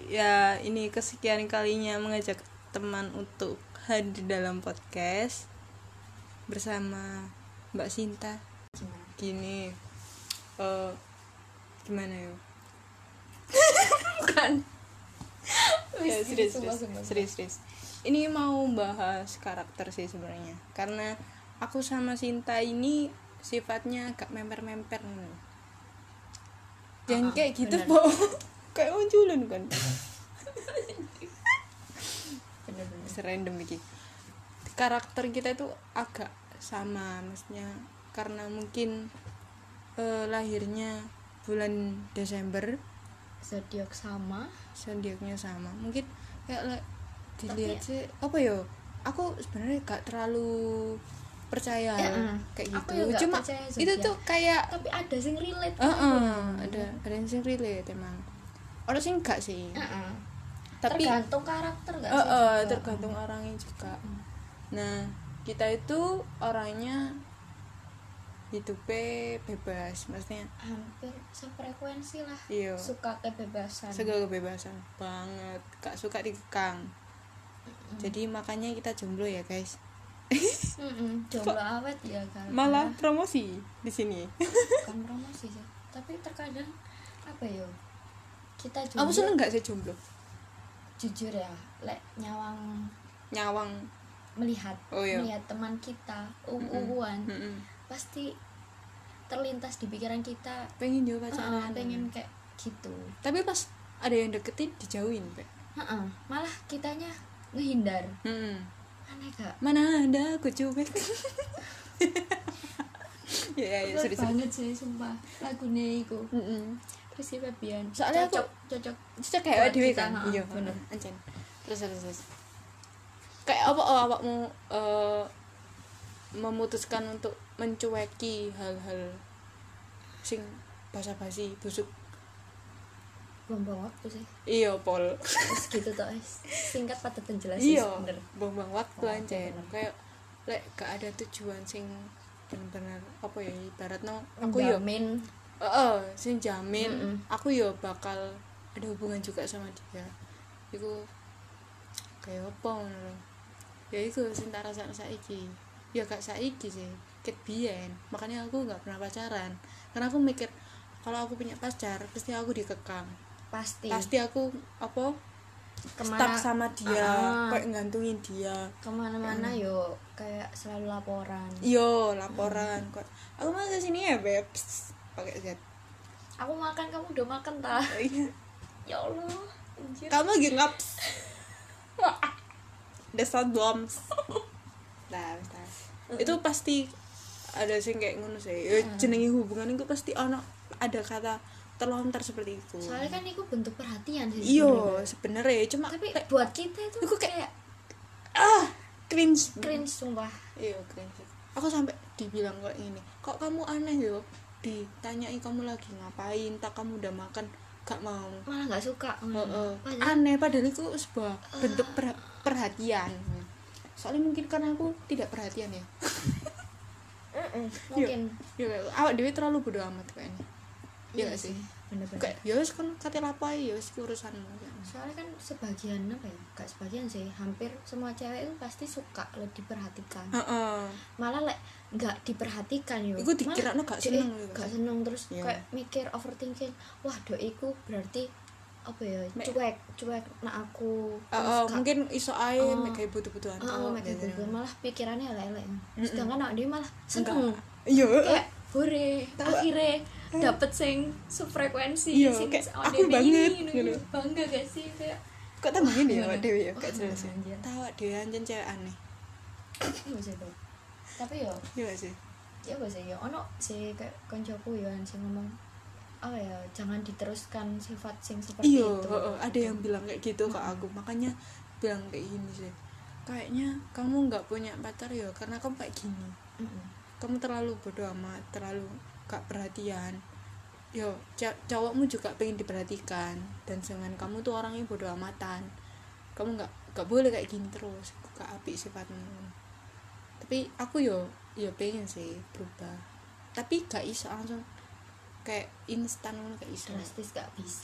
Ya, ini kesekian kalinya mengajak teman untuk hadir dalam podcast bersama Mbak Sinta. Gini, gimana ya? Bukan. Ya, serius. Ini mau bahas karakter sih sebenarnya. Karena aku sama Sinta ini sifatnya agak memper-memper. Jangan kayak gitu, Po. Kayak munculun kan. Bener-bener. Serandom iki. Karakter kita itu agak sama, maksudnya karena mungkin lahirnya bulan Desember, zodiaknya sama. Mungkin kayak dilihat sih apa ya? Aku sebenarnya gak terlalu percaya kayak gitu. Cuma itu tuh kayak tapi ada sing relate. ada yang sing relate emang. Orang sing gak sih. Tapi tergantung karakter gak sih? Tergantung orangnya juga. Nah, kita itu orangnya hidupnya bebas, maksudnya hampir sefrekuensi lah. Iya. Suka kebebasan. Segala kebebasan banget, gak suka dikekang. Jadi makanya kita jomblo ya, guys. Jomblo awet ya kan. Malah promosi di sini. Bukan promosi sih, tapi terkadang apa ya? Kita jomblo. Kamu seneng gak sih jomblo? Jujur ya, lek Nyawang melihat iya. melihat teman kita pasti terlintas di pikiran kita pengen juga pacaran. Pengen kayak gitu. Tapi pas ada yang deketin dijauhin, Pak. Malah kitanya ngehindar. Aneh gak? Mana ada aku cuek. ya serius banget sih sumpah lagunya iku. Terus si Febian soalnya cocok kayak dhewe kan. Iya bener. Ancen. Terus kayak awakmu memutuskan untuk mencueki hal-hal sing basa-basi busuk. Buang-buang waktu sih. Iya, Pol. Terus gitu toh, singkat padat dan jelas. Iya, bener. buang-buang waktu ancen. Kayak lek gak ada tujuan sing bener-bener apa ya ibaratnya aku yo jamin. Sing jamin aku yo bakal ada hubungan juga sama dia. Iku kayak apa ngono. Ya iku sing tak rasakno saiki. Ya gak saiki sih, ket biyen. Makanya aku gak pernah pacaran. Karena aku mikir kalau aku punya pacar pasti aku dikekang. Pasti aku apa stuck sama dia, kayak ngantungin dia kemana-mana yo kayak selalu laporan. Kok aku mau ke sini ya, Babes. Pakai Z. Aku makan, kamu udah makan tah? Iya. Ya Allah, anjir. Kamu lagi ngaps. Desat bombs. Nah, itu pasti ada sing kayak ngono sih. Jenenge hubungan itu pasti ada kata terlontar seperti itu. Soalnya kan itu bentuk perhatian sih. Iya, sebenarnya cuma tapi buat kita itu kayak cringe sumpah. Iya, cringe. Aku sampai dibilang kayak ini. Kok kamu aneh yo? Ditanyai kamu lagi ngapain, tak kamu udah makan, gak mau. Malah gak suka. Aneh padahal itu sebuah bentuk perhatian. Soalnya mungkin karena aku tidak perhatian ya. Mungkin. Iya, awak dewe terlalu bodo amat kayaknya. Iya gak sih? Bener-bener. Kayak ya wis kan kate lapai ya wis urusanmu. Soalnya kan sebagian apa ya? Gak sebagian sih, hampir semua cewek itu pasti suka lo diperhatikan. Malah gak diperhatikan yo. Iku dikirano gak seneng. Gak seneng terus kayak mikir overthinking. Wah, doiku berarti apa ya? Cuek nak aku. Mungkin iso ae mek gawe butuh-butuhan. Malah pikirannya elek-elek. Sedangkan nak dia malah seneng. Iya. Kayak hore, akhirnya dapet sing sefrekuensi, sing aku banget gitu. Bangga gak sih kayak kok tambah gini ya dewe ya gak jelas ya. Tahu dewe anjen cewek aneh. Iya sih tuh. Tapi yo iya sih. Ya gak sih ya ono sih kayak koncoku ya sing ngomong jangan diteruskan sifat sing seperti itu. Ada yang bilang kayak gitu ke aku. Makanya bilang kayak gini sih. Kayaknya kamu enggak punya pacar ya karena kamu kayak gini. Kamu terlalu bodoh amat, terlalu gak perhatian. Yo, cowokmu juga pengen diperhatikan dan dengan kamu tuh orangnya bodoh amatan. Kamu gak boleh kayak gini terus. Gak apik sifatmu. Tapi aku yo pengen sih berubah. Tapi gak iso langsung kayak instan gak iso. Drastis gak bisa.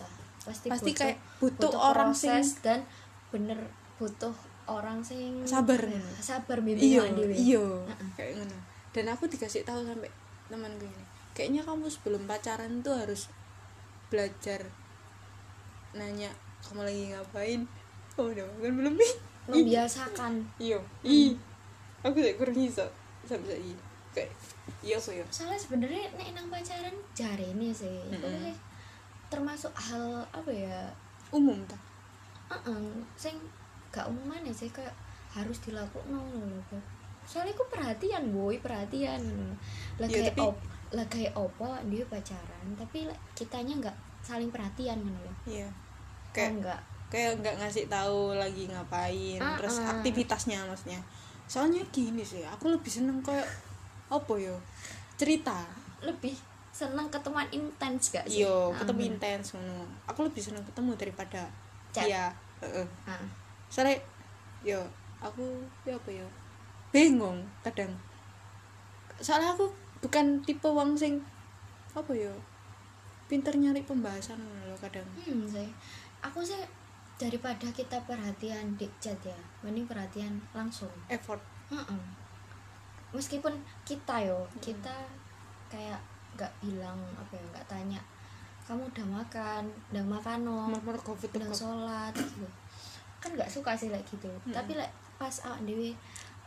pasti kayak butuh orang proses dan bener butuh orang sing sabar bimbing dhewe. Iya kayak ngono. Dan aku dikasih tahu sampai temanku ini, kayaknya kamu sebelum pacaran tuh harus belajar nanya kamu lagi ngapain. Oh udah kan belum nih membiasakan. Iya aku tak kurang iso sampai saiki kayak iya kok ya. Soalnya sebenarnya nek nang pacaran jarene sih itu termasuk hal apa ya, umum ta sing gak umum mana sih, kayak harus dilakukan lho. Soalnya aku perhatian lah ya, kayak opo dia pacaran tapi kitanya nggak saling perhatian loh. Iya kayak nggak ngasih tahu lagi ngapain terus aktivitasnya maksudnya. Soalnya gini sih aku lebih seneng kayak apa yo cerita, lebih seneng ketemuan intens gak sih? Iya ketemu intens ngono. Aku lebih seneng ketemu daripada chat. Iya soalnya yo aku ya apa yo bingung kadang. Soalnya aku bukan tipe wong sing apa yo pinter nyari pembahasan loh kadang. Sih aku sih daripada kita perhatian di chat ya, mending perhatian langsung effort. Meskipun kita kayak nggak bilang apa ya, nggak tanya kamu udah makan no, udah sholat gitu kan, nggak suka sih like gitu. Tapi like pas dewe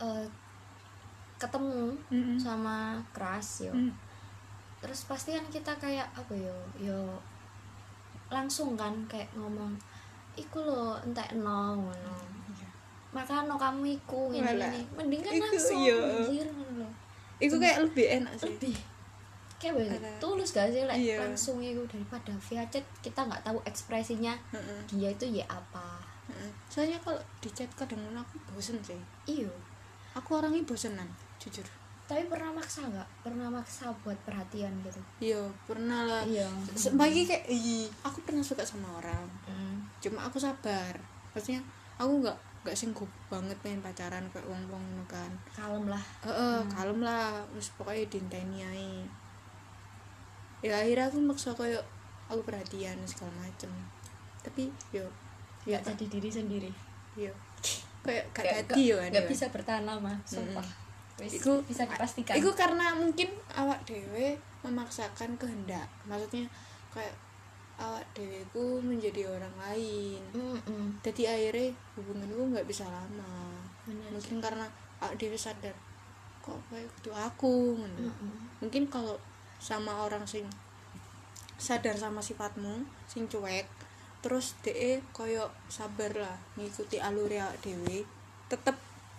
ketemu sama keras terus pasti kan kita kayak apa yo langsung kan kayak ngomong iku lo entek no ngono makano kamu iku ini mending kan langsung anjir ngono. Iku kayak lebih enak sih, lebih kayak tulus gak sih like langsung itu daripada via chat kita nggak tahu ekspresinya dia itu ya apa. Soalnya kalau di chat kadang aku bosen sih. Iya aku orangnya bosenan jujur. Tapi pernah maksa buat perhatian gitu? Iya pernah lah. Iya bagi kayak aku pernah suka sama orang cuma aku sabar, maksudnya aku nggak singgup banget pengen pacaran kayak wong kan, kalem lah terus pokoknya dinteni ae. Ya akhirnya aku maksa kayak aku perhatian segala macem tapi yo nggak jadi diri sendiri. Iya kayak gak jadi yo nggak bisa bertahan lama sumpah. Iku bisa dipastikan iku karena mungkin awak dewe memaksakan kehendak, maksudnya kayak awak dewe ku menjadi orang lain. Jadi akhirnya hubunganku nggak bisa lama. Mungkin karena awak dewe sadar kok kayak itu aku mungkin kalau sama orang sing sadar sama sifatmu sing cuek terus de koyo sabar lah ngikuti alur awak dewe, tetep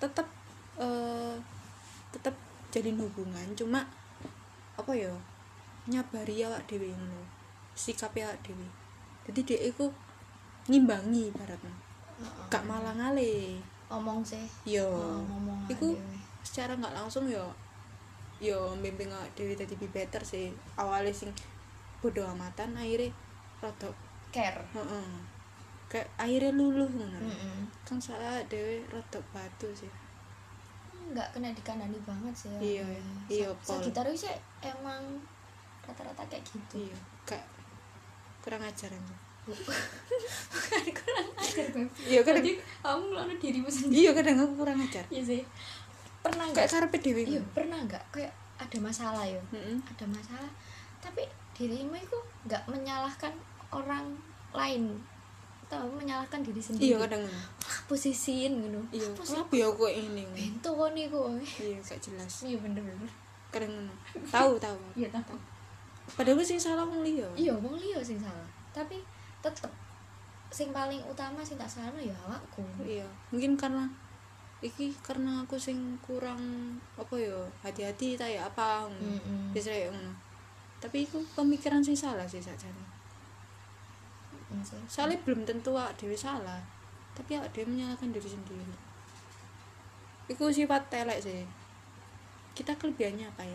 jalin hubungan, cuma apa ya nyabari awak dhewe ngono sikap awak dhewe. Jadi dhek iku ngimbangi ibaratnya gak malah ngale ngomong sih yo ngomong iku secara gak langsung yo bimbing awak dhewe dadi be better sih. Awalnya sing bodo amatan akhirnya rada care kayak akhirnya luluh ngono kan salah dhewe rada batu sih, nggak kena dikandani banget sih ya. Iya Sagittarius sih emang rata-rata kayak gitu. Iya kayak kurang ajar aja. Bukan kurang ajar Beb. Iya kadang kamu lalu dirimu sendiri. Iya kadang aku kurang ajar. Iya sih. Pernah nggak kayak karepe dhewe. Iya pernah nggak kayak ada masalah ya ada masalah tapi dirimu itu nggak menyalahkan orang lain atau menyalahkan diri sendiri. Iya kadang posisiin gitu. Iya kenapa ya kok ini bento kok nih kok. Iya gak jelas. Iya bener kadang tahu iya tahu padahal sing salah wong liya. Iya wong liya sing salah tapi tetep sing paling utama sing tak salah ya awakku. Iya mungkin karena aku sing kurang apa ya hati-hati ta ya apa bisa ya ngono. Tapi iku pemikiran sing salah sih sakjane. Soalnya belum tentu awak dhewe salah tapi awak dhewe menyalahkan diri sendiri. Iku sifat telek sih. Kita kelebihannya apa ya?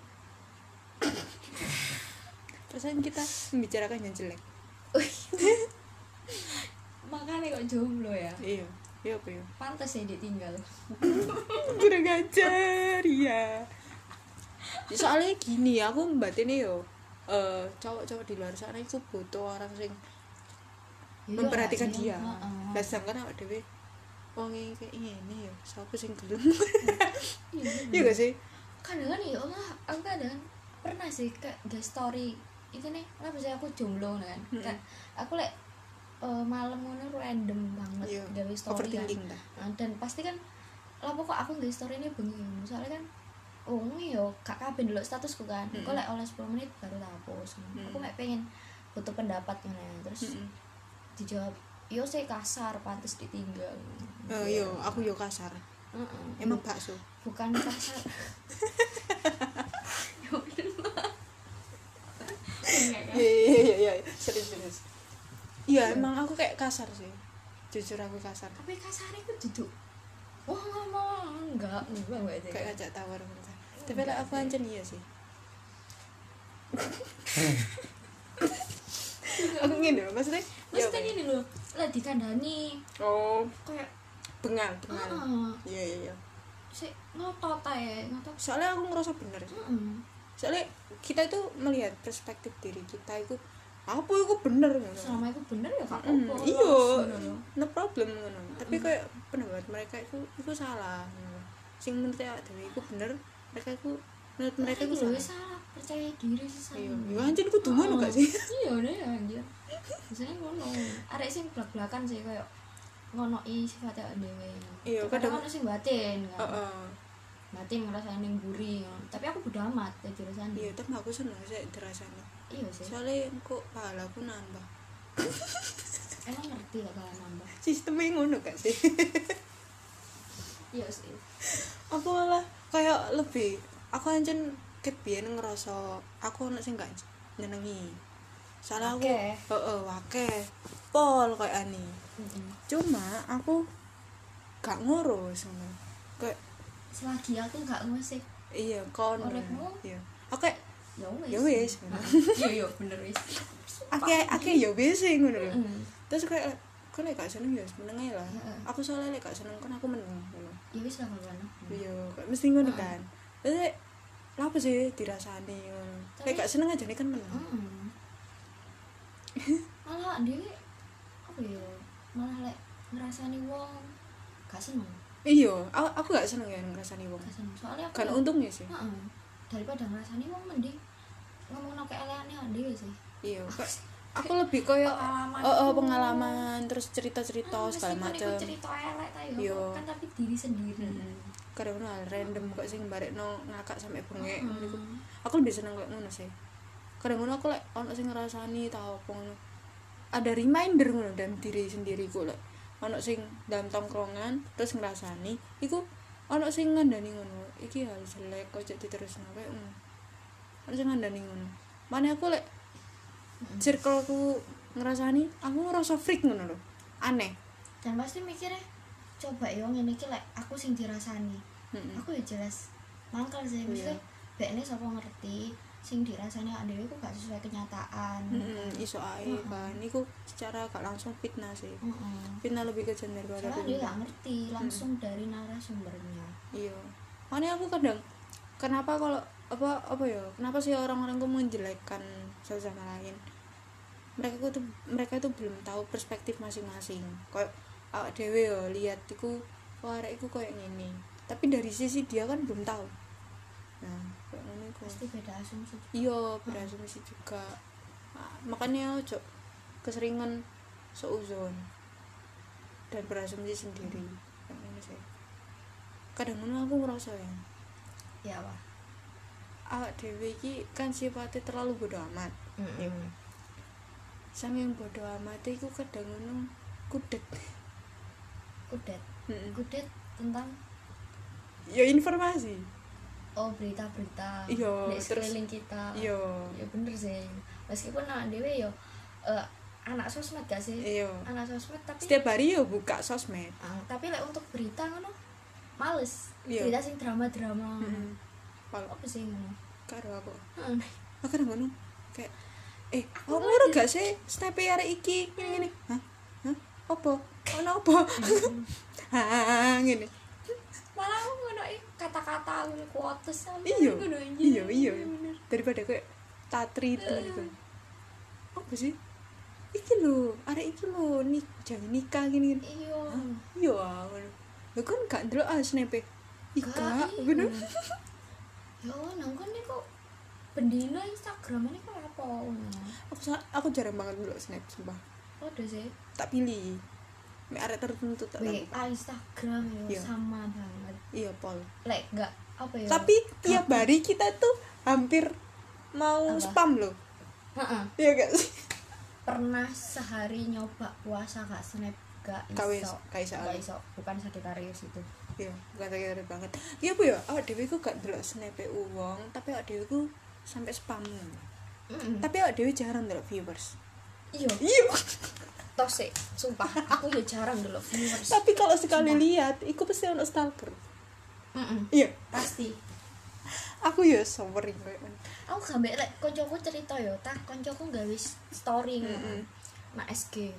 Perasaan kita membicarakan yang jelek. Makanya kok jomblo ya. Iya apa ya? Pantes ya ditinggal. Kurang ajar ya. Soalnya gini aku batin yo cowok-cowok di luar sana itu butuh orang sing Iya, memperhatikan iya, dia. heeh. Lah sedangkan awake dhewe wong kayak ngene ya, sapa sing gelem. Iya, Iya gak sih? kadang kan ya Allah, aku kadang pernah sih kayak the story itu nih, kenapa sih aku jomblo kan, kayak aku malam ngono random banget Iya, gawe story kan. overthinking ta. Nah, dan pasti kan lah kok aku gawe story ini bengi, soalnya kan yo gak kabeh ndelok statusku kan, kok lek oleh 10 menit baru tak hapus. Aku mek pengen butuh pendapat ngono ya. Terus dijawab, yo saya kasar pantes ditinggal. Yo aku yo kasar. Emang bakso. Bukan kasar. Iya serius. Iya emang aku kayak kasar sih, jujur aku kasar. Tapi kasar itu duduk wah ngomong enggak aja Kayak ngajak tawar gitu. Tapi lah aku ancen iya sih. Aku ngene lho, maksudnya gini loh, lah dikandani oh kayak bengal. Iya. sik ngotot ae, ngotot. Soalnya aku ngerasa bener sih. Soalnya kita itu melihat perspektif diri kita itu apa itu bener ngono. Selama itu bener ya gak apa-apa. Iya, no problem ngono. Tapi kayak pendapat mereka itu salah. Sing menurut dhewe iku bener, menurut mereka itu salah. Percaya diri sih. Iya, yo anjir ku ngono gak sih? Iya deh anjir. Biasanya ngono. Arek sing blak-blakan sih kayak ngonoki sifate dhewe. Iya, kadang ono sing batin kan. Heeh. Batin ngrasani mburi. Tapi aku bodo amat dadi rasane. Iya, tapi aku seneng sih dirasani. Iya sih. Soalnya kok pahalaku nambah. Emang ngerti lah kalau nambah. Sistemnya ngono gak sih? Iya sih. Aku malah kayak lebih aku ancen kebiyen ngerasa aku ono sing gak nyenengi. Soalnya aku wakeh pol kayak ani. Cuma aku gak ngurus ngono. Kayak selagi aku gak ngusik iya kon. Iya. Oke. Ya wis. Iya bener wis. Ake ya wis ngono lho. Terus kayak kok lek gak seneng ya meneng ae lah. Aku soalnya lek gak seneng kan aku meneng ngono. Ya wis lah kan. Iya, kayak mesti ngono kan. Terus lha apa sih dirasani ngono. Lek gak seneng aja nih kan meneng. Malah dhewe apa ya? Malah lek ngrasani wong gak seneng. Iya, aku gak seneng ya ngrasani wong. Gak seneng. Soalnya aku kan untungnya sih. Daripada ngrasani wong mending ngomongno keeleane dhewe sih. Iya, aku lebih koyo pengalaman terus cerita-cerita segala macam. Cerita elek ta yo. Kan tapi diri sendiri. Kadang hal random kok sing barekno ngakak sampe bengek niku. Aku lebih seneng kok ngono sih. Kadang ngono aku lek ono sing ngrasani ta opo ngono. Ada reminder ngono dalam diri sendiri ku lek ono sing dalam tongkrongan terus ngrasani iku ono sing ngandani ngono. Iki hal jelek kok jadi terus nawe. Ono sing ngandani ngono. Mane aku lek circleku ngrasani aku ngerasa freak ngono lho. Aneh. Dan pasti mikirnya coba yo ngene iki lek aku sing dirasani. Aku ya jelas mangkal sih mesti bekne sapa ngerti sing dirasani dhewe iku gak sesuai kenyataan. Iso ae kan iku secara gak langsung fitnah sih. Fitnah lebih kejam daripada soalnya dia gak ngerti langsung dari narasumbernya. Iya. Makanya aku kadang kenapa kalau apa ya? Kenapa sih orang-orang kok menjelekkan satu sama lain? Mereka itu belum tahu perspektif masing-masing. Kayak awak dhewe yo lihat iku arek iku koyo ngene. Tapi dari sisi dia kan belum tahu. Nah, kayak ngene iku. Pasti beda asumsi. Iya, beda asumsi juga. Nah, makanya ojo keseringan seuzon dan berasumsi sendiri. Kayak ngene sih. Kadang ngono aku ngerasa ya. Ya apa? Awak dhewe iki kan sifatnya terlalu bodoh amat. Saking bodoh amat iku kadang ngono kudet tentang ya informasi. Oh berita-berita Iya, di sekeliling kita. Iya. Ya bener sih. Meskipun anak dewe yo anak sosmed gak sih? Iya. Anak sosmed tapi Setiap hari yo buka sosmed. Tapi lek untuk berita ngono males. Iya. Berita sing drama-drama. Kalau Apa sih ngono? karo aku. Aku kadang ngono kayak aku ora gak sih snap arek iki ngene. Hah? Opo? Ono opo? Ngene. Malah aku ngono kata-kata ngono kuotes sampe Iya. ngono Iya. Daripada kayak tatri itu gitu. Apa sih? Iki lho, arek iki lho jangan nikah gini. Iya. Iya, lho kan gak ndelok snape. Ika, bener. Ya nang kon niku bendina Instagram ini kok apa ngono. Aku jarang banget ndelok snap sumpah. Udah sih. Tak pilih. Mek arek tertentu tak tahu. Instagram ya Iya. sama banget. Iya, Pol. Lek enggak apa ya? Tapi tiap hari kita tuh hampir mau Apa? spam loh. Heeh. Iya gak sih? Pernah sehari nyoba puasa gak snap gak iso. Gak iso. Bukan Sagittarius itu. Iya, bukan sakit banget. Iya Bu ya, awak dhewe ku gak ndelok snap wong, tapi awak dhewe ku sampai spam. Tapi awak dhewe jarang ndelok viewers. Iya. Iya. Tos sih, sumpah aku ya jarang dulu viewers. Tapi kalau sekali lihat, iku pasti ono stalker. Iya, Pasti. aku ya sobering koyo ngono. Aku gambek lek koncoku cerita yo, tah koncoku gawe story ngono. Nak SG.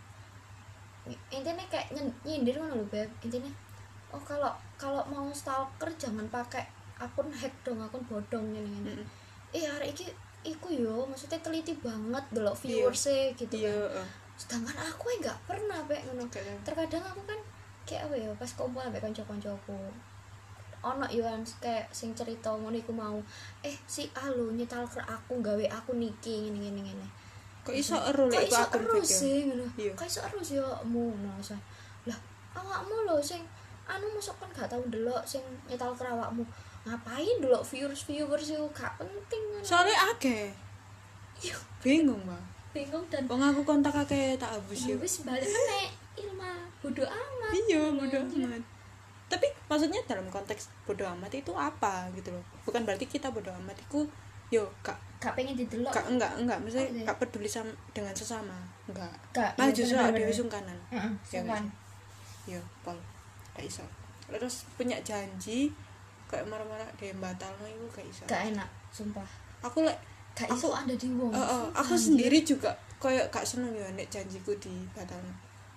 Intinya kayak nyindir ngono lho, Beb. Intinya oh kalau mau stalker jangan pakai akun hack dong, akun bodong ngene-ngene. Arek iki iku yo maksudnya teliti banget delok viewers-e gitu Iya, kan. Sedangkan aku enggak pernah Beb ngono. Terkadang aku kan kayak apa ya pas kumpul ambek kanca-kancaku. Ono yo kayak sing cerita ngono iku mau si Alu nyetal ke aku gawe aku niki ngene-ngene. Kok iso ero lek Kok iso akun ero fake ya? sih ngono. Iya. Kok iso ero sih mu ngono. Lah awakmu lho sing anu masuk kan gak tau ndelok sing nyetal ke awakmu. Ngapain ndelok viewers yo gak penting ngono. Soalnya akeh. Iya, Bingung, Mbak. bingung dan Wong aku kontak akeh tak habis yo. wis balik meneh Ilma bodo amat. Iya, bodo amat. Tapi maksudnya dalam konteks bodo amat itu apa gitu loh. Bukan berarti kita bodo amat itu yo Gak pengen didelok. enggak maksudnya Oke. gak peduli sama dengan sesama. Enggak. Gak. Malah Iya, justru bener-bener. dhewe sungkanan. Heeh, Ya, sungkan. Yo, Pol. Gak iso. Terus punya janji kayak marah-marah dia batalno itu gak iso. Gak enak, sumpah. Aku lek Gak iso ada di wong. aku sendiri juga kayak gak seneng ya nek janjiku dibatalno.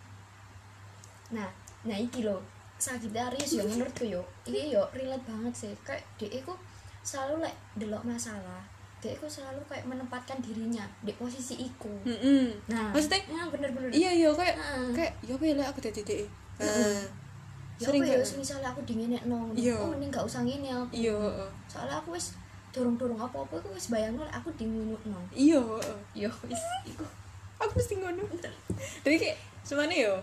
Nah iki lho Sagittarius yo menurutku yo iki yo relate banget sih kayak dia iku selalu lek delok masalah dia iku selalu kayak menempatkan dirinya di posisi iku. Nah Maksudnya bener-bener iya kayak Heeh. ya apa ya lek aku dadi dhek. ya Sering apa ya kayak misalnya aku dingenekno Iya. oh mending gak usah ngene aku iya soalnya aku wis dorong-dorong apa-apa iku wis bayangno lek aku dingunukno iya yo wis iku aku mesti ngono. Jadi kayak semuanya yo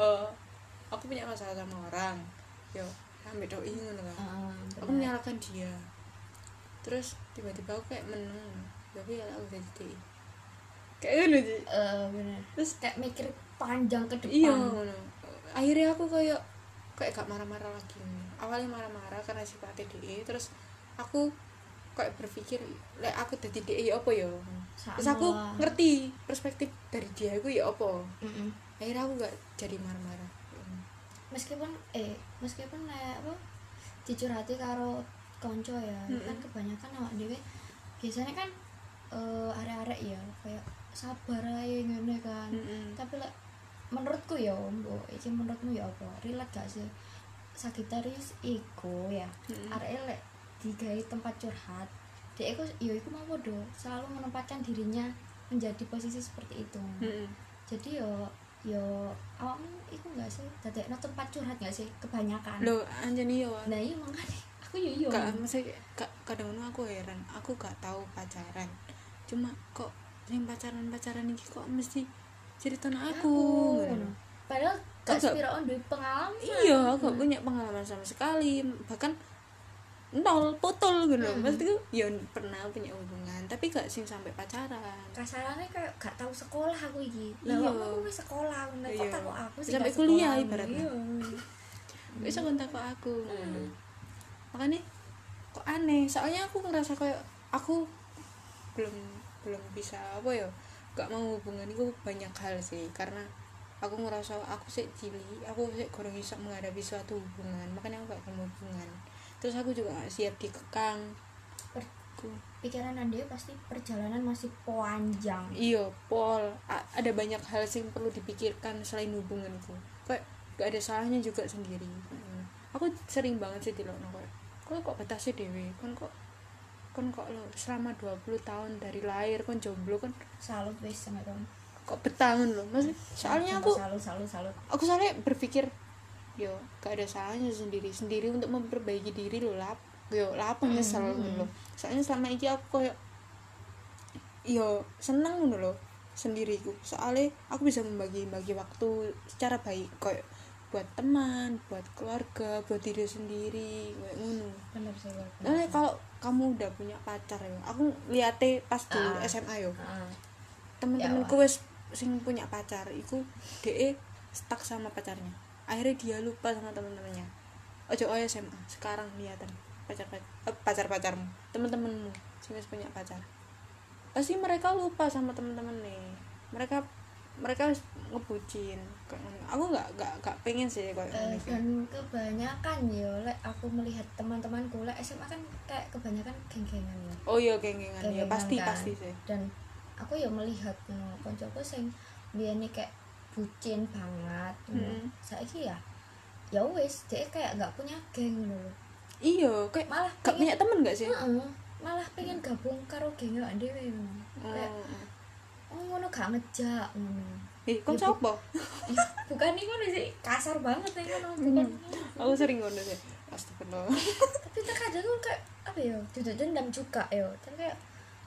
aku punya masalah sama orang yo sampai doi ngono kan. Aku menyalahkan dia. Terus tiba-tiba aku kayak meneng. Tapi kalau aku jadi dhek. Kayak ngono sih. bener Terus kayak mikir panjang ke depan. iya ngono. Akhirnya aku kayak gak marah-marah lagi. Awalnya marah-marah karena sifatnya DE, terus aku kayak berpikir lek aku dadi DE ya apa ya. Terus aku ngerti perspektif dari dia aku ya apa. Akhirnya aku gak jadi marah-marah. meskipun lek apa dicurhati karo konco ya kan kebanyakan awak dhewe biasanya kan arek-arek ya kayak sabar ae ngene kan. Tapi lek menurutku ya mbok iki menurutmu ya apa relate gak sih Sagittarius iku ya arek lek digawe tempat curhat dia iku ya iku mau podo selalu menempatkan dirinya menjadi posisi seperti itu. Jadi yo awakmu iku gak sih dadekno tempat curhat gak sih kebanyakan Loh anjani yo. nah iya makanya aku yo Gak maksudnya kadang aku heran, aku gak tahu pacaran. Cuma kok yang pacaran iki kok mesti ceritanya aku ngono. padahal gak Aku gak- sepiro duwe pengalaman. Iya, aku gak punya pengalaman sama sekali, bahkan nol putul gitu. Maksudku ya pernah punya hubungan, tapi gak sing sampai pacaran. Kasarannya kayak gak tahu sekolah aku iki. Iya. Lah aku wis sekolah, kok Iya. takut aku sih Sampai gak kuliah sekolah. ibaratnya. Iya. Bisa kontak kok aku ngono. Makanya kok aneh, soalnya aku ngerasa kayak aku belum bisa apa ya, gak mau hubungan itu banyak hal sih, karena aku ngerasa aku sih cilik, aku sih kurang bisa menghadapi suatu hubungan, makanya aku gak mau hubungan. Terus aku juga gak siap dikekang. Pikiran Anda pasti perjalanan masih panjang. Iya, Pol, ada banyak hal yang perlu dipikirkan selain hubungan itu. Kayak gak ada salahnya juga sendiri. Aku sering banget sih dilokno kayak kok batasnya dewe, kon kok lo selama 20 tahun dari lahir kon jomblo kon Salut wis sama kamu. kok bertangan loh mas. Soalnya aku salut soalnya berpikir yo gak ada salahnya sendiri untuk memperbaiki diri loh lah. Yo lah apa nyesel loh. Soalnya selama ini aku koyo yo seneng ngono loh sendiriku. Soalnya aku bisa membagi waktu secara baik koyo buat teman, buat keluarga, buat diri sendiri kayak ngono. Bener sih. Nah, kalau kamu udah punya pacar ya, aku liate pas dulu SMA yo. Temen-temenku wis sing punya pacar, iku DE stuck sama pacarnya. Akhirnya dia lupa sama teman-temannya. Ojo SMA, sekarang lihatan pacar-pacarmu, teman-temanmu sing wis punya pacar. Pasti mereka lupa sama teman-teman nih. Mereka ngebucin. Aku nggak pengen sih kayak dan kebanyakan ya lek aku melihat teman-temanku lek SMA kan kayak kebanyakan geng-gengan ya. Oh iya geng-gengan ya pasti kan? Pasti sih. Dan aku ya melihat koncoku sing biyene kayak bucin banget. Saiki ya wis dia kayak nggak punya geng loh. Iya, kayak malah gak punya temen gak sih? Malah pengen gabung karo geng awake dhewe kayak ngono gak ngejak ngono. Kon sapa? Bukan nih ngono sih, kasar banget nih ngono, bukan. Aku sering ngono sih. Astagfirullah. Tapi terkadang kan kayak apa ya? Duduk dendam juga ya. Terus kayak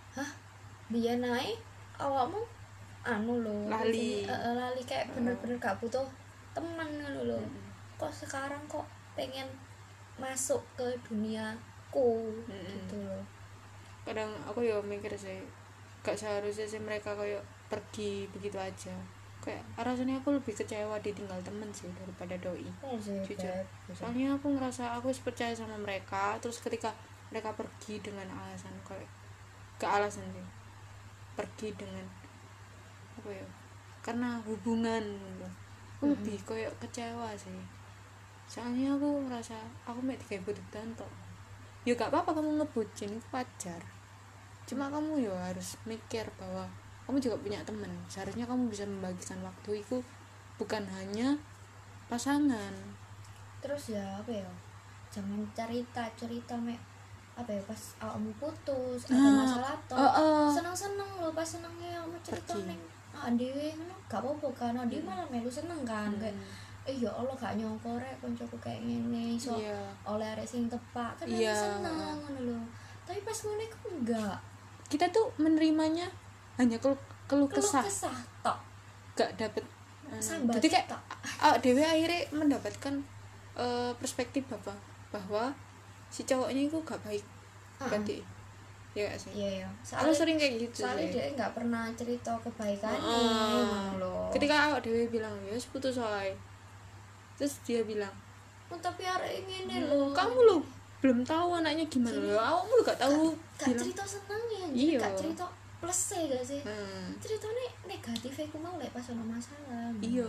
biyen ae awakmu anu lho, lali kayak bener-bener gak butuh teman ngono lho. Kok sekarang kok pengen masuk ke duniaku gitu loh. Kadang aku ya mikir sih gak seharusnya sih mereka kayak pergi begitu aja. Kayak rasanya aku lebih kecewa ditinggal temen sih daripada doi. Jujur. Soalnya aku ngerasa aku percaya sama mereka, terus ketika mereka pergi dengan alasan kayak gak alasan sih, pergi dengan apa ya, karena hubungan gitu. Aku lebih kayak kecewa sih. Soalnya aku ngerasa aku mek digawe tok. Ya gak apa-apa kamu ngebucin, itu wajar. Cuma kamu ya harus mikir bahwa kamu juga punya teman. Seharusnya kamu bisa membagikan waktu itu bukan hanya pasangan. Terus ya apa ya? Jangan cerita mek apa ya pas awakmu putus atau masalah seneng-seneng lho pas senengnya kamu cerita ning dhewe ngono gak apa-apa kan. Dia malah melu seneng kan kayak ya Allah gak nyongko rek koncoku kayak ngene iso oleh arek sing tepak kan seneng ngono lho. Tapi pas ngene kok enggak. Kita tuh menerimanya hanya keluh kesah tok. Gak dapet sambat. Jadi kayak dewe akhirnya mendapatkan perspektif bahwa si cowoknya itu gak baik. Berarti ya gak sih? Iya. Aku sering kayak gitu. Soalnya dia gak pernah cerita kebaikannya loh. Ketika awak dewe bilang ya putus soalnya, terus dia bilang tapi arek ngene lho. Kamu lo belum tahu anaknya gimana lho. Awakmu lo gak tahu. Gak cerita senengnya, gak cerita plus gak sih? Ceritanya negatif aku mau lek pas ono masalah. Iya,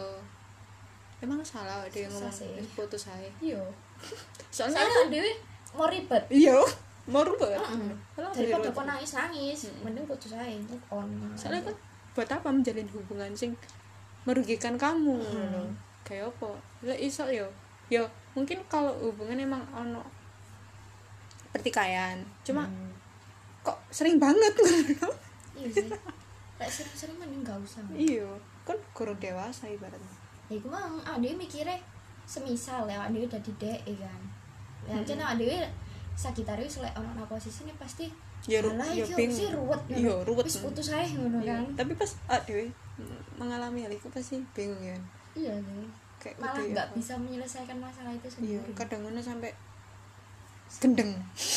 emang salah ada yang ngomong putus ae. Iya. Soalnya aku dhewe mau ribet. Iya, mau ribet. Daripada kok nangis, mending putus ae untuk soalnya kan buat apa menjalin hubungan sing merugikan kamu kayak apa? Lah iso yo mungkin kalau hubungan emang ono pertikaian, cuma kok sering banget ngono. Iya sih. Kayak sering-sering mending gak usah. Iya, kan kurang dewasa ibaratnya. Ya iku mah dia mikirnya semisal ya dia udah di DE kan. Ya cenah dia Sagitarius lek ono nang posisi ini pasti ya bingung. Ruwet. Wis putus ae ngono kan. Tapi pas dhewe mengalami hal itu pasti bingung ya. Iya sih. Kayak malah enggak bisa menyelesaikan masalah itu sendiri. Iya, kadang ngono sampai gendeng.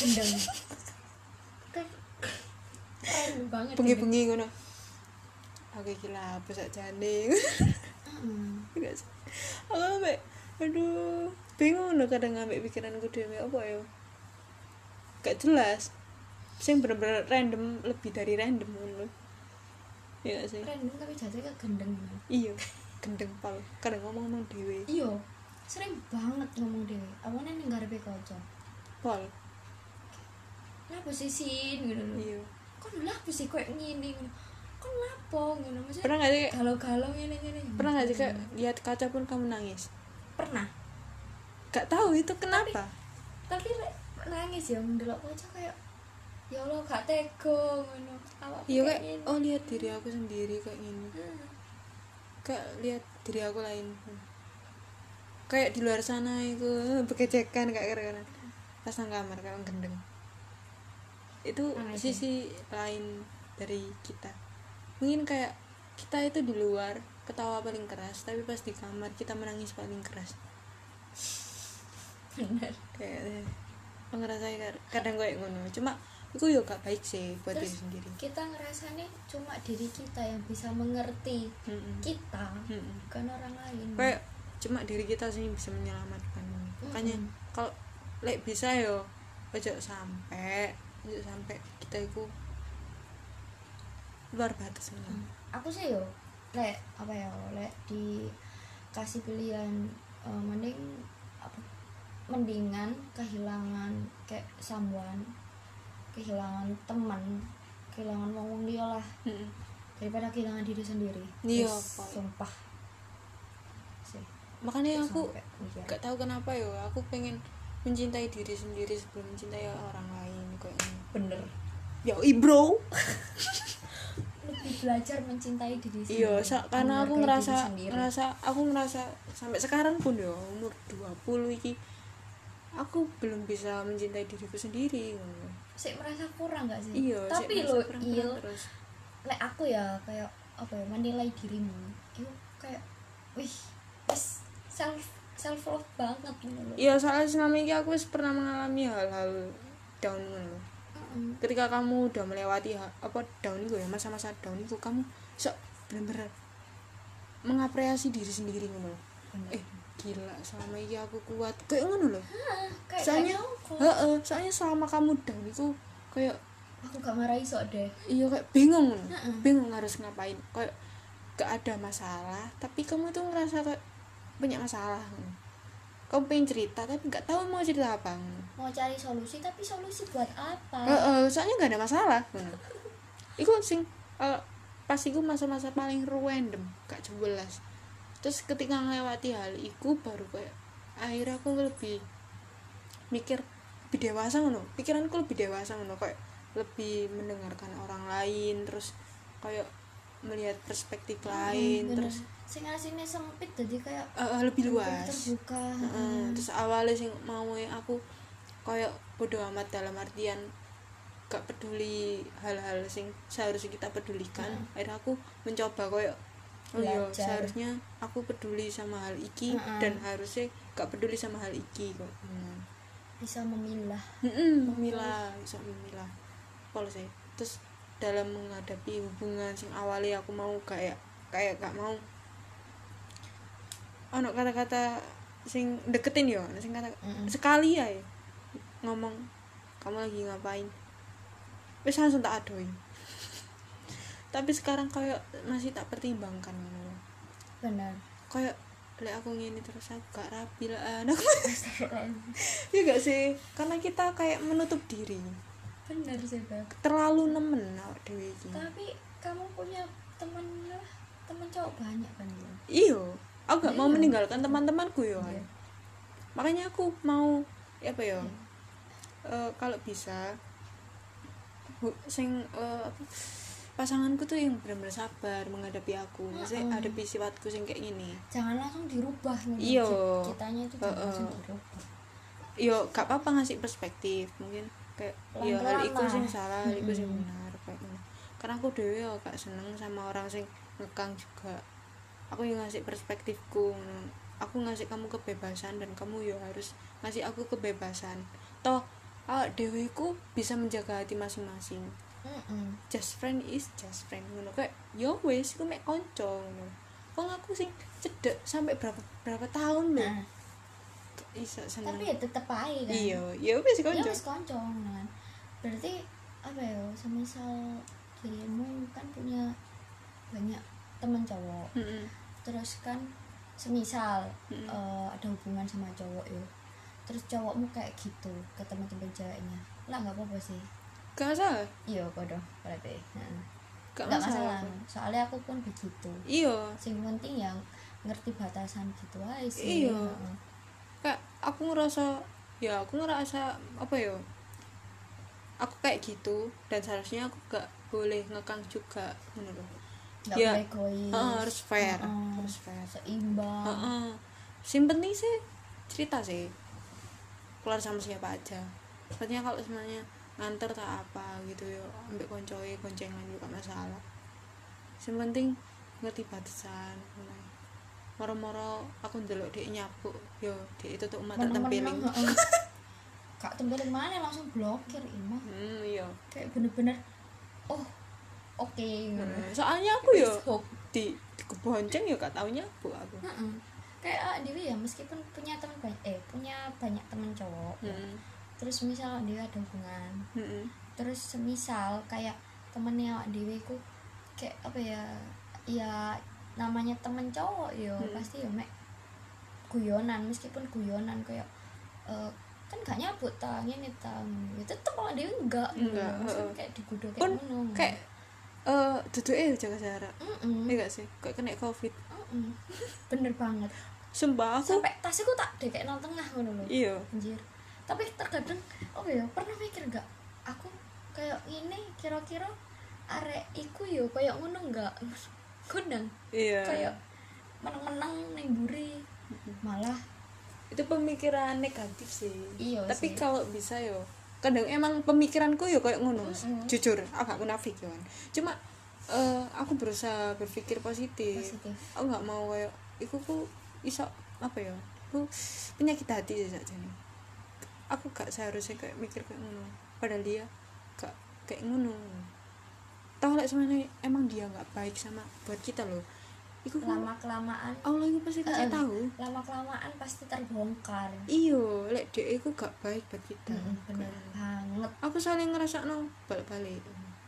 Keren banget. Bengi-bengi ngono. Aku iki lah apa sak jane. Enggak sih. Aku sampai aduh, bingung loh kadang ambek pikiranku dhewe apa ya. Gak jelas. Sing bener-bener random, lebih dari random ngono. Iya sih. Random tapi jatuhnya gendeng. Iya, gendeng pal. Kadang ngomong dhewe. Iya. Sering banget ngomong dhewe. Awalnya ning ngarepe kanca. Pal. Lah posisi ngono lho. Iya. Kon lah posisi koyo ngene ngono. Kon lapo ngono maksudnya. Pernah enggak sih galau-galau ngene-ngene. Pernah enggak sih kayak lihat kaca pun kamu nangis? Pernah. Gak tahu itu kenapa. Tapi nangis ya ndelok kaca kayak ya Allah gak tega ngono awak iya kayak oh lihat diri aku sendiri kayak gini, kayak lihat diri aku lain, kayak di luar sana itu bekecekan kayak keren pas nang kamar kayak gendeng. Itu sisi lain dari kita. Mungkin kayak kita itu di luar ketawa paling keras, tapi pas di kamar kita menangis paling keras. bener Kayak ngerasa kadang kayak ngono. Cuma itu yo gak baik sih buat diri sendiri. Kita ngerasanya cuma diri kita yang bisa mengerti kita, bukan orang lain. Kayak cuma diri kita sih bisa menyelamatkan. Makanya kalau lek bisa yo ojo sampai kita itu luar batas memang. Aku sih yo lek apa ya lek dikasih pilihan mendingan kehilangan kayak someone, kehilangan teman, kehilangan wong dia lah daripada kehilangan diri sendiri. Iya, sumpah sih. Makanya aku gak tahu kenapa yo aku pengen mencintai diri sendiri sebelum mencintai orang lain kayak ini. Bener. Yo bro. Lebih belajar mencintai diri sendiri. Iya, karena aku ngerasa sampai sekarang pun yo umur 20 iki aku belum bisa mencintai diriku sendiri. Sik merasa kurang gak sih? Iya, tapi lo iya terus. Lek aku ya kayak apa ya menilai dirimu. Itu kayak wih, self love banget gitu loh. Iya, soalnya selama ini aku pernah mengalami hal-hal down loh. Ketika kamu udah melewati down itu ya, masa-masa down itu kamu bener-bener mengapresiasi diri sendiri ngono. Gila, selama ini aku kuat kayak ngono loh. Soalnya selama kamu down itu kayak aku gak marahi sok deh. Iya kayak bingung harus ngapain, kayak gak ada masalah tapi kamu tuh ngerasa kayak banyak masalah. Kamu pengen cerita tapi gak tahu mau cerita apa, mau cari solusi tapi solusi buat apa. Soalnya gak ada masalah. Iku sing pas iku masa-masa paling random gak jelas. Terus ketika ngelewati hal iku baru kayak akhirnya aku lebih mikir lebih dewasa ngono, pikiranku lebih dewasa ngono, kayak lebih mendengarkan orang lain, terus kayak melihat perspektif lain, terus sing asine sempit jadi kayak lebih luas terbuka. Terus awalnya sing mau aku kayak bodo amat dalam artian gak peduli hal-hal sing seharusnya kita pedulikan. Akhirnya aku mencoba kayak seharusnya aku peduli sama hal iki dan harusnya gak peduli sama hal iki kok. Bisa memilah. Bisa memilah polisi. Terus dalam menghadapi hubungan sing awalnya aku mau kayak gak mau ono kata-kata sing deketin yo, sing kata sekali ya ngomong kamu lagi ngapain, wis langsung tak adoin. Tapi sekarang kayak masih tak pertimbangkan ngono. Benar. Kayak lek aku ngene terus aku gak rapi lah anak. Ya gak sih? Karena kita kayak menutup diri. Benar sih, Bang. Terlalu nemen awak dhewe iki. Tapi kamu punya teman cowok banyak kan ya? Iya, aku gak mau meninggalkan teman-temanku ya. Makanya aku mau apa ya? Kalau bisa pasanganku tuh yang benar-benar sabar menghadapi aku, maksudnya hadapi sifatku sing kayak gini. Jangan langsung dirubah Iya. nih. Kitanya itu jangan langsung dirubah. Yo, gak apa-apa ngasih perspektif, mungkin kayak yo hal iku sing salah, iku sing benar kayak ngono. Karena aku dhewe yo gak seneng sama orang sing ngekang juga. Aku yang ngasih perspektifku, aku ngasih kamu kebebasan dan kamu yo harus ngasih aku kebebasan. Toh awak dhewe ku bisa menjaga hati masing-masing. Just friend is just friend ngono, kayak yo wis iku mek kanca ngono. Wong aku sing cedek sampai berapa tahun lho. Bisa seneng. Tapi ya tetep aja kan. Iya, ya wis kanca. Ya wis kanca kan. Berarti apa ya, semisal dirimu kan punya banyak teman cowok. Terus kan semisal ada hubungan sama cowok ya. Terus cowokmu kayak gitu ke teman-teman ceweknya. Lah enggak apa-apa sih. Gak masalah. Iya, bodoh berarti. Gak masalah. Soalnya aku pun begitu. Iya. Sing penting yang ngerti batasan gitu aja sih. Iya. Kayak aku ngerasa apa ya? aku kayak gitu dan seharusnya aku gak boleh ngekang juga menurut nggak ya boleh egois. harus fair Heeh. harus fair Seimbang. sing penting sih cerita sih keluar sama siapa aja soalnya kalau sebenarnya nganter tak apa gitu yo ambek koncoe koncengan juga masalah sing penting ngerti batasan moro-moro aku ndelok dhek nyapu yo dhek itu tuh mata tempeling Kak tempeling mana langsung blokir imah. iya Kayak bener-bener oh oke. soalnya aku yo Besok. di kebonceng yo gak tau nyapu aku Kayak Dewi ya meskipun punya teman banyak punya banyak teman cowok ya. Terus misal Dewi ada hubungan terus semisal kayak temennya Dewi ku kayak apa ya ya namanya temen cowok yo pasti yo mek guyonan meskipun guyonan kayak kan gak nyabut tangan ini ya tetep kalau Dewi enggak maksudnya kayak digudo kayak ngono kayak duduke jaga jarak iya gak sih kayak kena covid bener banget sumpah aku sampai tasku tak dekek nang tengah ngono lho iya anjir tapi terkadang oh ya pernah mikir enggak aku kayak ini kira-kira arek iku yo kayak ngono enggak kundang iya kayak menang-menang neng buri malah itu pemikiran negatif sih iya tapi sih. kalau bisa yo kadang emang pemikiranku yo kayak ngono jujur aku gak munafik yo kan cuma aku berusaha berpikir positif. Aku nggak mau kayak iku ku iso apa ya aku penyakit hati saja nih aku gak seharusnya kayak mikir kayak ngono padahal dia gak kayak ngono tahu lah sebenarnya emang dia nggak baik sama buat kita loh iku lama kelamaan Allah itu pasti kasih tahu lama kelamaan pasti terbongkar iyo lek dia iku gak baik buat kita bener banget aku saling ngerasa no balik-balik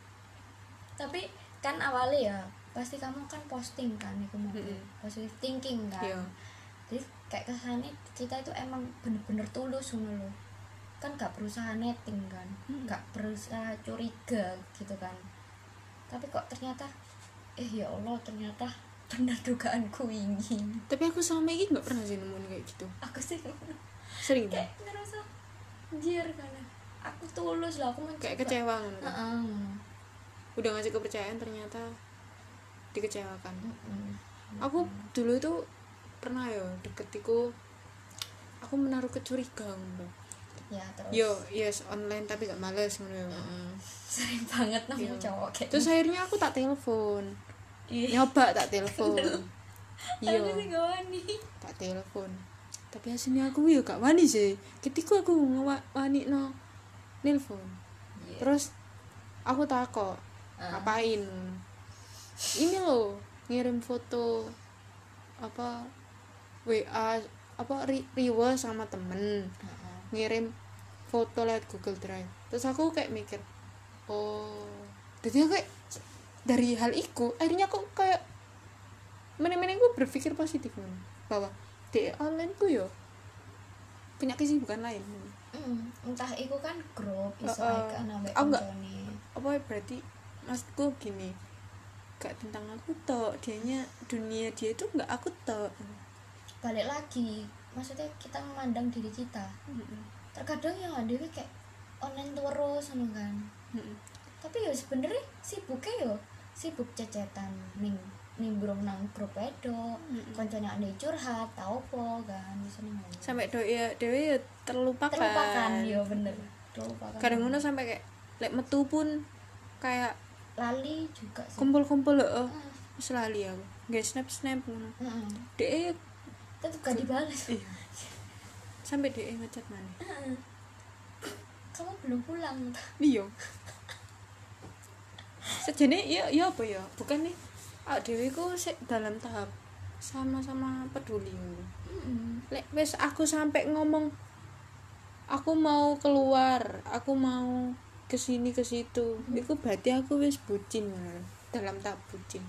tapi kan awalnya ya pasti kamu kan posting kan itu mau positive thinking kan iya. Jadi kayak kesannya kita itu emang bener-bener tulus ngono loh kan gak berusaha netting kan gak berusaha curiga gitu kan tapi kok ternyata ya Allah ternyata benar dugaanku ini tapi aku selama ini gak pernah sih nemuin kayak gitu aku sih sering kayak ngerasa anjir kan aku tulus lah aku mencoba kayak kecewa kan udah ngasih kepercayaan ternyata dikecewakan aku dulu itu pernah ya deketiku aku menaruh kecurigaan ya terus yo yes online tapi gak males ngono sering banget nemu cowok kayak terus akhirnya aku tak telepon nyoba tak telepon iya tak telepon tapi hasilnya aku yo gak wani sih ketika aku wani no nelpon terus aku takut ngapain ini loh ngirim foto apa WA apa riwa sama temen ngirim foto lewat Google Drive terus aku kayak mikir oh jadi kayak dari hal itu akhirnya aku kayak meneng-meneng gue berpikir positif bahwa di online ku yo punya kesibukan lain entah itu kan grup iso kan ambek koncone apa berarti maksudku gini gak tentang aku tok dianya dunia dia itu gak aku tok balik lagi maksudnya kita memandang diri kita terkadang yang ada kayak online terus kan tapi ya sebenarnya sibuk cecetan ning nimbrung nang grup edo koncone ane curhat tau po kan sampai dewe ya terlupakan ya bener terlupakan kadang ngono sampai kayak lek metu pun kayak lali juga sih kumpul-kumpul wis lali aku nggak snap ngono dek tetep gak dibalas iya. Sampai dek ngechat mana kamu belum pulang iya sejane ya apa ya bukan nih dewe ku dalam tahap sama-sama peduli lek wis aku sampai ngomong aku mau keluar aku mau kesini ke situ itu berarti aku wis bucin dalam tahap bucin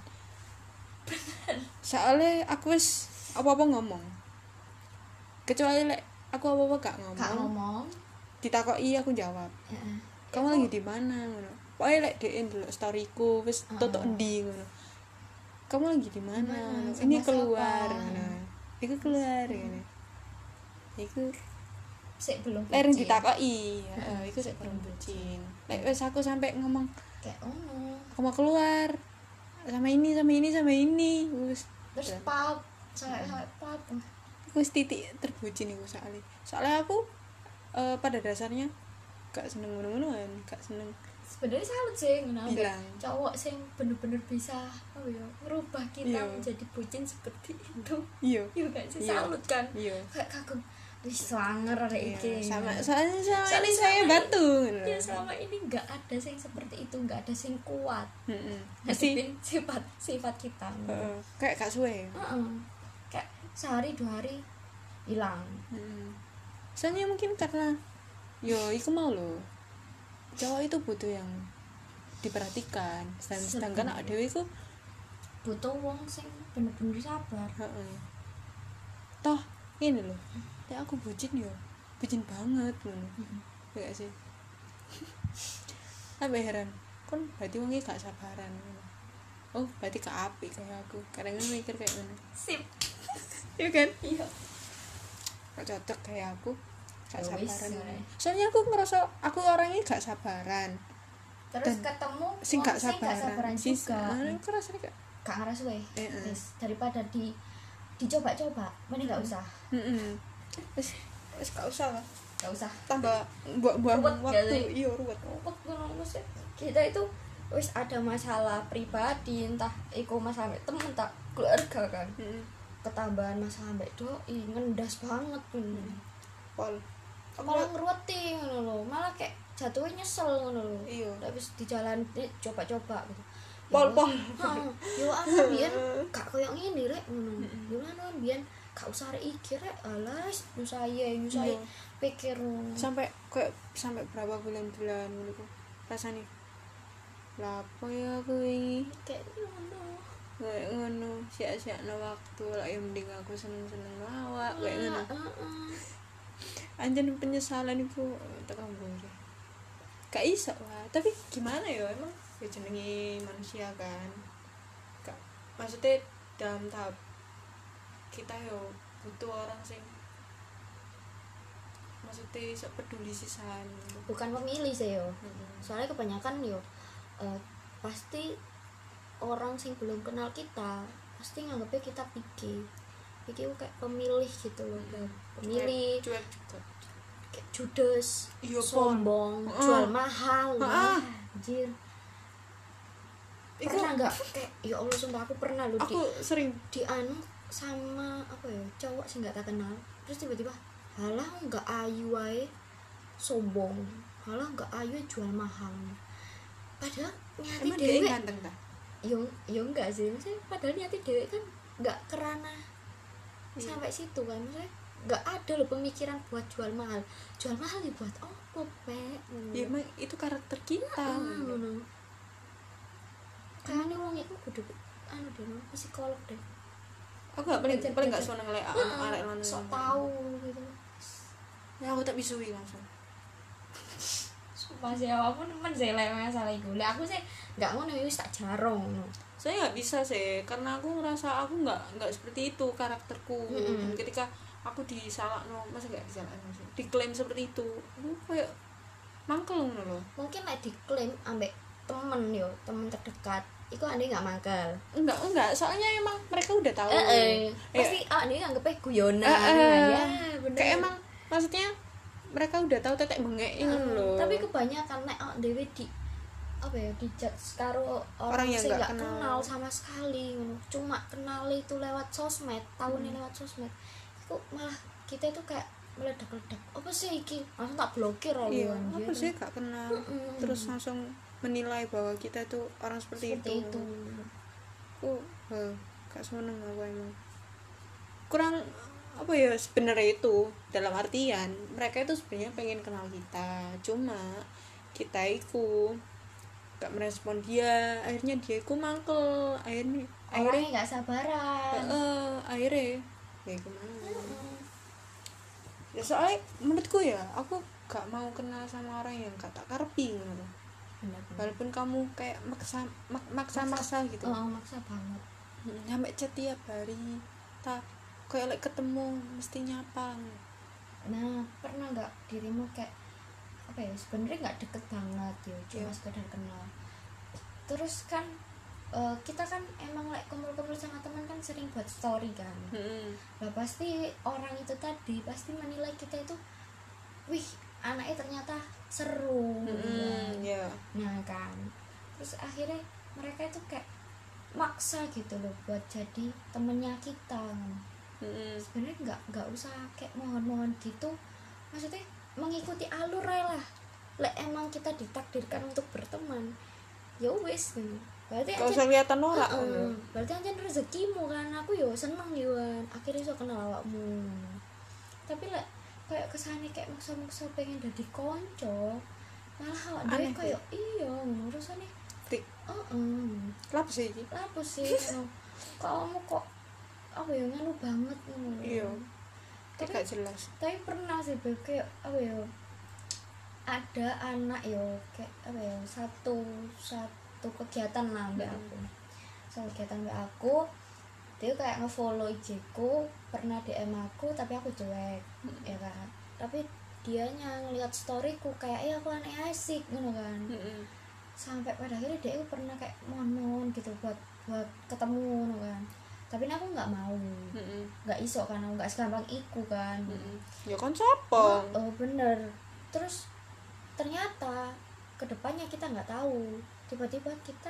soalnya aku wis apa-apa ngomong kecuali lek aku apa-apa gak ngomong ditakoki aku jawab kamu lagi di mana ngono pokoknya lek dhek ndelok storyku wis tutuk endi ngono kamu lagi di mana ini keluar ngono iku keluar ngene iku sik belum Leren bucin. ditakoki, heeh, iku sik belum bucin. Lek wis aku sampai ngomong, Kayak ono. aku mau keluar sama ini sama ini sama ini, wis Terus pap, sampai pap. wis titik terbucin iku soalnya aku pada dasarnya gak seneng ngono-ngonoan, gak seneng Sebenarnya salut sih ngono bilang. cowok sing bener-bener bisa ngerubah kita Iya. menjadi bucin seperti itu. Iya. Iya gak sih, Iya. salut kan? Iya. Kayak kagum. Wis swanger arek iki. Soalnya Soalnya ini saya selama batu ngono. Ya selama ini nggak ada sing seperti itu, nggak ada sing kuat. Mesti Ngadepin sifat kita. kayak gak suwe. Kayak sehari 2 hari hilang. Soalnya mungkin karena iku mau loh. Cowok itu butuh yang diperhatikan. Sedangkan awake dhewe iku Butuh wong sing bener-bener sabar. Toh ini loh. Ya aku bucin bucin banget ngono. Ya gak sih? Sampai heran. Kon berarti wongnya gak sabaran. Oh, berarti gak apik kayak aku. Kadang mikir kayak ngono. Sip. Iya kan? Iya. Gak cocok kayak aku. Gak Ya wis, sabaran. ya. Soalnya aku ngerasa aku orangnya gak sabaran. Terus Dan ketemu Sing wong gak sabaran juga. Aku rasanya gak. Gak ngeras we. Heeh. Wis, daripada dicoba-coba, mending gak usah. Wis gak usah lah. Gak usah. Tambah buang Ruwet waktu. gak sih? Iya, ruwet. Kita itu wis ada masalah pribadi, entah iku masalah mbek temen tak keluarga kan. Ketambahan masalah mbek doi ngendas banget Pol. malah ngeruweti ngono lho, malah kayak jatuhnya nyesel ngono lho. Iya. Habis di jalan coba-coba gitu. Pol. Yo anu biyen gak koyo ngene rek ngono. Yo anu biyen gak usah rek iki rek, alas nyusai Iya. pikir Sampai berapa bulan-bulan ngono ku. Rasane. Lah apa ya aku ini? kayak ngono. Kayak ngono, sia-siakno waktu lah yang mending aku seneng-seneng lawak kayak ngono. Anjen penyesalan itu tekan gue. Gak iso lah, tapi gimana ya emang ya jenenge manusia kan. Gak maksudnya dalam tahap kita butuh orang sing maksudnya iso peduli sisan. Bukan pemilih sih yo. Soalnya kebanyakan pasti orang sing belum kenal kita pasti nganggapnya kita pikir kayak pemilih gitu loh, pemilih Cuek juga. kayak judes, Iya, sombong, jual mahal, anjir. Iku Pernah nggak kayak ya Allah sumpah aku pernah loh aku sering di anu sama apa ya cowok sih nggak tak kenal, terus tiba-tiba halah nggak ayu ae sombong, halah nggak ayu jual mahal, padahal nyati emang dia dewe ganteng ta? yo enggak sih, maksudnya padahal nyati dewe kan nggak kerana sampai situ kan, maksudnya nggak ada loh pemikiran buat jual mahal dibuat apa Ya emang itu karakter kita. kayaknya wong itu kudu anu deh psikolog deh, Aku gak paling Belajar- gak belajar. seneng lek arek lanang. sok tahu gitu. Ya aku tak bisui langsung. Sumpah sih aku nemen sih lek masalah iku. Lek aku sih enggak ngono wis tak jarong ngono. Saya nggak bisa sih karena aku ngerasa aku nggak seperti itu karakterku. Dan ketika aku disalahno, masa nggak disalahno sih, diklaim seperti itu, aku kayak mangkel ngono loh. Mungkin lek diklaim ambek temen terdekat iku ane nggak mangkel. Enggak, soalnya emang mereka udah tahu. Pasti ane nganggepnya guyonan. Ya, bener. kayak emang maksudnya mereka udah tahu tetek bengek ngono loh. Tapi kebanyakan nek dhewe di apa ya dijudge karo Orang yang sing nggak nggak kenal. kenal sama sekali ngono. Cuma kenal itu lewat sosmed, tahunya lewat sosmed. Itu malah kita itu kayak meledak-ledak. Apa sih iki? Langsung tak blokir loh Iya, anjir. apa sih gak kenal. Terus langsung menilai bahwa kita tuh orang seperti itu. Aku gak seneng aku emang. Kurang apa ya sebenarnya itu dalam artian mereka itu sebenarnya pengen kenal kita, cuma kita itu gak merespon dia, akhirnya dia itu mangkel, akhirnya Orangnya nggak sabaran. akhirnya ya gimana ya, soalnya menurutku ya aku gak mau kenal sama orang yang gak tak karepi gitu. Walaupun kamu kayak maksa gitu, Maksa banget. sampai chat tiap hari kayak ketemu mesti nyapa. Nah, pernah nggak dirimu kayak apa ya, sebenarnya nggak deket banget ya, cuma sekedar kenal, terus kan kita kan emang kumpul-kumpul sama teman kan sering buat story kan. Nah pasti orang itu tadi pasti menilai kita itu, wih anaknya ternyata seru nah kan, terus akhirnya mereka itu kayak maksa gitu loh buat jadi temennya kita. Sebenarnya nggak usah kayak mohon-mohon gitu, maksudnya mengikuti alur aja lah. Lek emang kita ditakdirkan untuk berteman ya wis gitu, berarti gak usah kelihatan norak. Berarti aja rezekimu kan, aku yo seneng yo kan akhirnya iso kenal awakmu. Tapi lek kayak kesane kayak maksa-maksa pengen dadi konco, malah awak dhewe koyo iya ngono rasane trik. Lapo sih iki? Lapo sih ngono. Kamu kok apa ya nganu banget ngono. Iya. Tapi gak jelas. Tapi pernah sih Beb, kayak apa ya? Ada anak yo kayak apa ya, satu kegiatan lah mbak aku. Satu kegiatan mbak aku, dia kayak ngefollow IG ku, pernah DM aku tapi aku cuek, ya kan. Tapi dianya ngelihat storyku kayak aku aneh asik ngono kan. Sampai pada akhirnya dia pernah kayak mohon gitu buat ketemu ngono kan. Tapi aku nggak mau, nggak iso kan, aku nggak segampang iku kan. Ya kan siapa? Oh bener. Terus ternyata kedepannya kita nggak tahu, tiba-tiba kita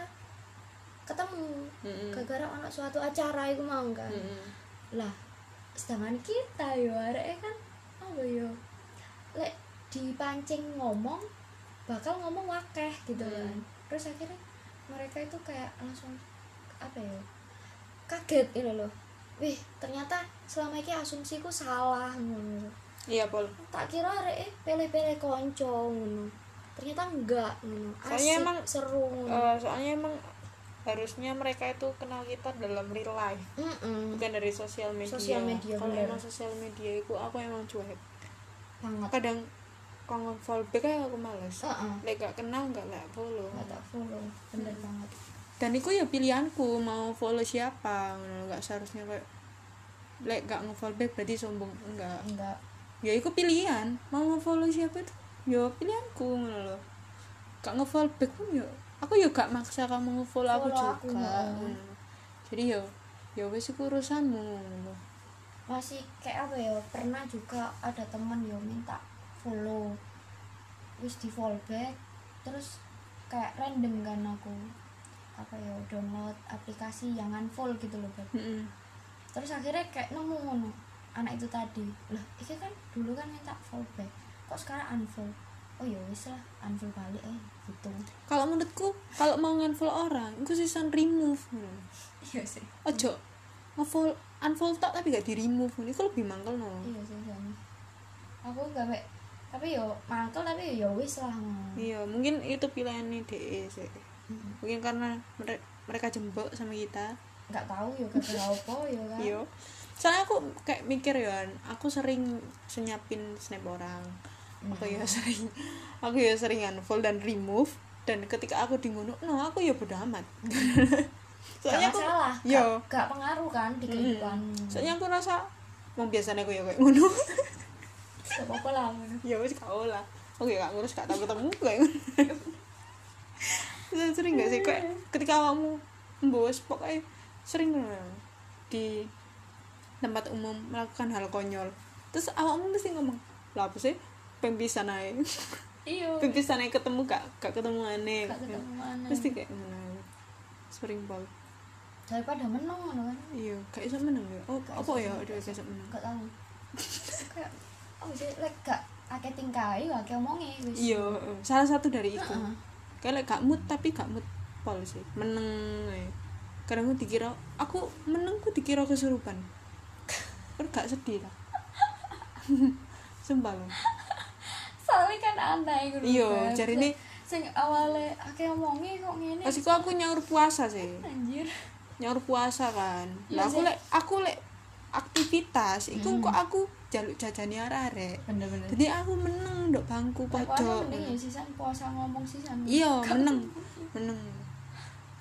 ketemu gara-gara anak suatu acara itu mau kan. Lah sedangkan kita yo arek kan apa yo lek dipancing ngomong bakal ngomong wakeh gitu kan. Terus akhirnya mereka itu kayak langsung apa ya, kaget gitu loh, wih ternyata selama ini asumsiku salah ngono. Iya Pol, Tak kira arek pele-pele konco ngono, ternyata enggak ngono, asik emang seru ngono. soalnya emang harusnya mereka itu kenal kita dalam real life, bukan dari sosial media. Kalau emang sosial media itu aku emang cuek banget, kadang kalau follow back aja aku males. Lek gak kenal gak follow. Gak tak follow, bener banget. Dan itu ya pilihanku mau follow siapa, nggak seharusnya kayak lek gak nge-follow back berarti sombong, enggak. Ya itu pilihan, mau nge-follow siapa itu ya pilihanku ngono lho. Gak nge-follow back pun ya aku ya gak maksa kamu nge-follow aku juga. Jadi ya wis iku urusanmu ngono. Masih kayak apa ya, pernah juga ada teman yo minta follow, wis di follow back, terus kayak random kan aku apa ya download aplikasi yang unfollow gitu loh Beb. Terus akhirnya kayak nemu ngono anak itu tadi, lah ini kan dulu kan minta follow back, kok sekarang unfollow. Oh ya wis lah unfollow balik gitu. Kalau menurutku kalau mau unfollow orang itu sisan remove. Iya sih, ojo nge-follow unfollow tak tapi gak di remove, ini kok lebih mangkel no. Iya sih sama aku gak baik, tapi yo mangkel tapi yo wis lah. Iya mungkin itu pilihannya DE sih. Mungkin karena mereka jembok sama kita, nggak tahu yo gara-gara apa yo kan. Iya. Soalnya aku kayak mikir ya, aku sering senyapin snap orang. Aku ya sering unfollow dan remove, dan ketika aku di ngono, aku ya bodo amat. Soalnya aku salah. Gak pengaruh kan di kehidupan. Soalnya aku rasa mau biasanya aku ya kayak ngono. Apa lah ngono. Ya wis kau lah. Oke, gak ngurus, gak tahu ketemu kayak ngono. Sering gak sih kayak ketika kamu membos pokoknya sering di tempat umum melakukan hal konyol, terus awakmu mesti ngomong lah apa sih pempisan aja. Iya pempisan aja ketemu gak ketemu aneh, mesti kayak mana sering banget daripada menang kan. Iya kayak bisa menang ya. Oh apa ya udah kayak menang gak tahu kayak sih like gak akeh tingkai akeh omongi wis. Iya salah satu dari itu kayak gak mood tapi gak mood pol sih menang kadang aku dikira aku menang, aku dikira kesurupan. Gak sedih lah. Sumpah loh. Soalnya kan aneh gitu. Iya, jari ini sing awalnya akeh omongi kok ngene. Pas iku aku nyaur puasa sih. Anjir. Nyaur puasa kan. Lah aku lek aktivitas iku kok aku jaluk jajani arek-arek. Bener-bener. Jadi aku meneng ndok bangku pojok. Mending ya sisan puasa ngomong sisan. Iya, meneng.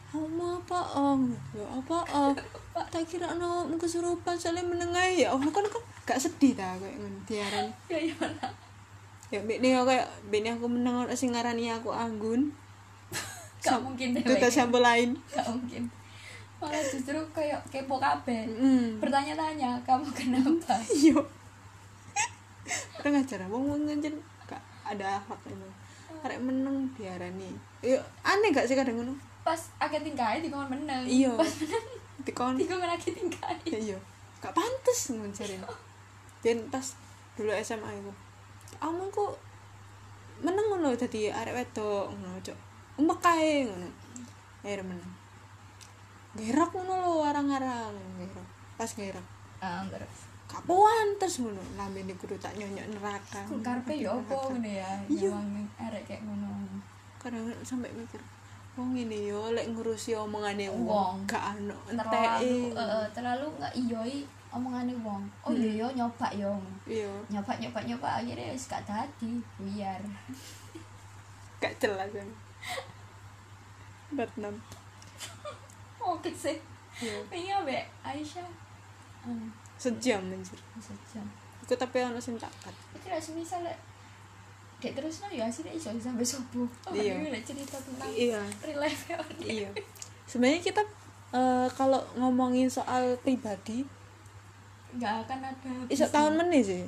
Oma apa ya apa tak kira no kesurupan soalnya menengai ya Allah kan gak sedih ta kayak ngono diaran ya gimana ya mbekne kayak mbekne aku meneng ono sing ngarani aku anggun gak mungkin deh itu tak sampel lain gak mungkin malah justru kayak kepo kabeh bertanya-tanya kamu kenapa iya orang ngajar wong ngajar gak ada akhlak itu arek meneng diarani yo aneh gak sih kadang ngono pas agak tingkai dikon meneng iya pas meneng dikon lagi tingkai iya gak pantes nguncarin dan pas dulu SMA aku amun kok meneng ngono dadi arek wedok ngono cok umek kae ngono akhir meneng gerak ngono lho arang-arang gerak pas gerak terus gak pantes ngono lambene kudu tak nyonyok neraka karepe yo opo ngene ya nyawang arek kayak ngono kadang sampai mikir wong ngene yo lek ngurusi omongane Wong. wong gak ono enteke terlalu nggak iyoi omongane wong oh iya yo nyoba yo iya nyoba akhirnya wis gak dadi buyar gak jelas kan Batnam oke sih iya pengen be Aisyah sejam anjir sejam iku tapi ono sing cakat itu lah semisal dek terus ya hasilnya iso sampai subuh Iya. ini cerita tentang iya real life iya sebenarnya kita kalau ngomongin soal pribadi nggak akan ada iso tahun meneh sih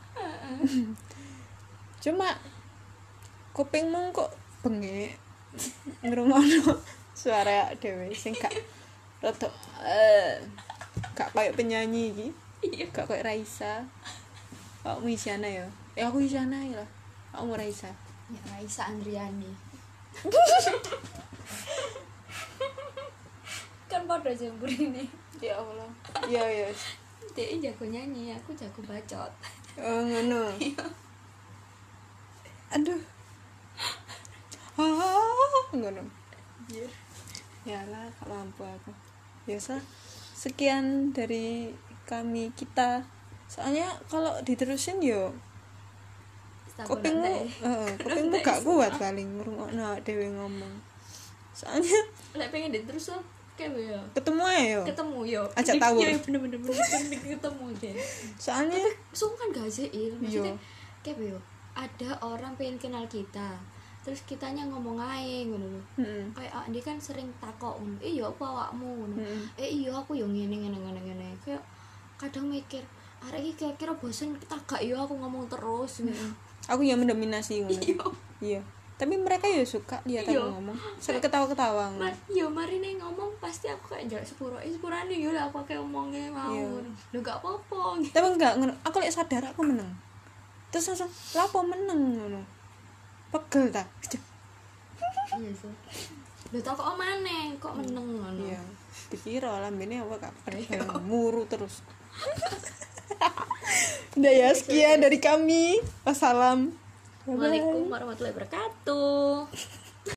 cuma kupingmu kok bengek ngrungokno suara dhewe sing gak rada gak kayak penyanyi iki gak kayak Raisa aku Isyana ya aku Isyana ya lah aku mau Raisa ya Raisa Andriani kan pada jembur ini ya Allah iya dia jago nyanyi aku jago bacot oh ngono aduh ngono ya lah gak mampu aku biasa sekian dari kami kita soalnya kalau diterusin yo kupingmu gak kuat paling ngrungokno dhewe ngomong soalnya lek pengen terus lo kayak ya ketemu aja yo ketemu yo ajak tawur iya bener ketemu deh soalnya sungguh kan gak sih maksudnya Yo. kayak yo ada orang pengen kenal kita terus kitanya ngomong aja ngono lho kayak dia kan sering takok ngono iya apa awakmu ngono iya aku yo ngene kayak kadang mikir arek iki kira-kira bosen kita gak yo aku ngomong terus aku yang mendominasi ngono iya tapi mereka ya suka lihat aku ngomong sampai ketawa-ketawa ngono yo mari nih ngomong pasti aku kayak jarak sepurane yo lah aku kayak ngomongnya mau ngono lho gak apa-apa tapi enggak ngono aku lek sadar aku meneng terus langsung lapo meneng ngono pegel ta iya sih lho tak kok maneh kok meneng ngono iya dikira lambene apa kabar muru terus udah ya sekian dari kami wassalam Assalamualaikum warahmatullahi wabarakatuh.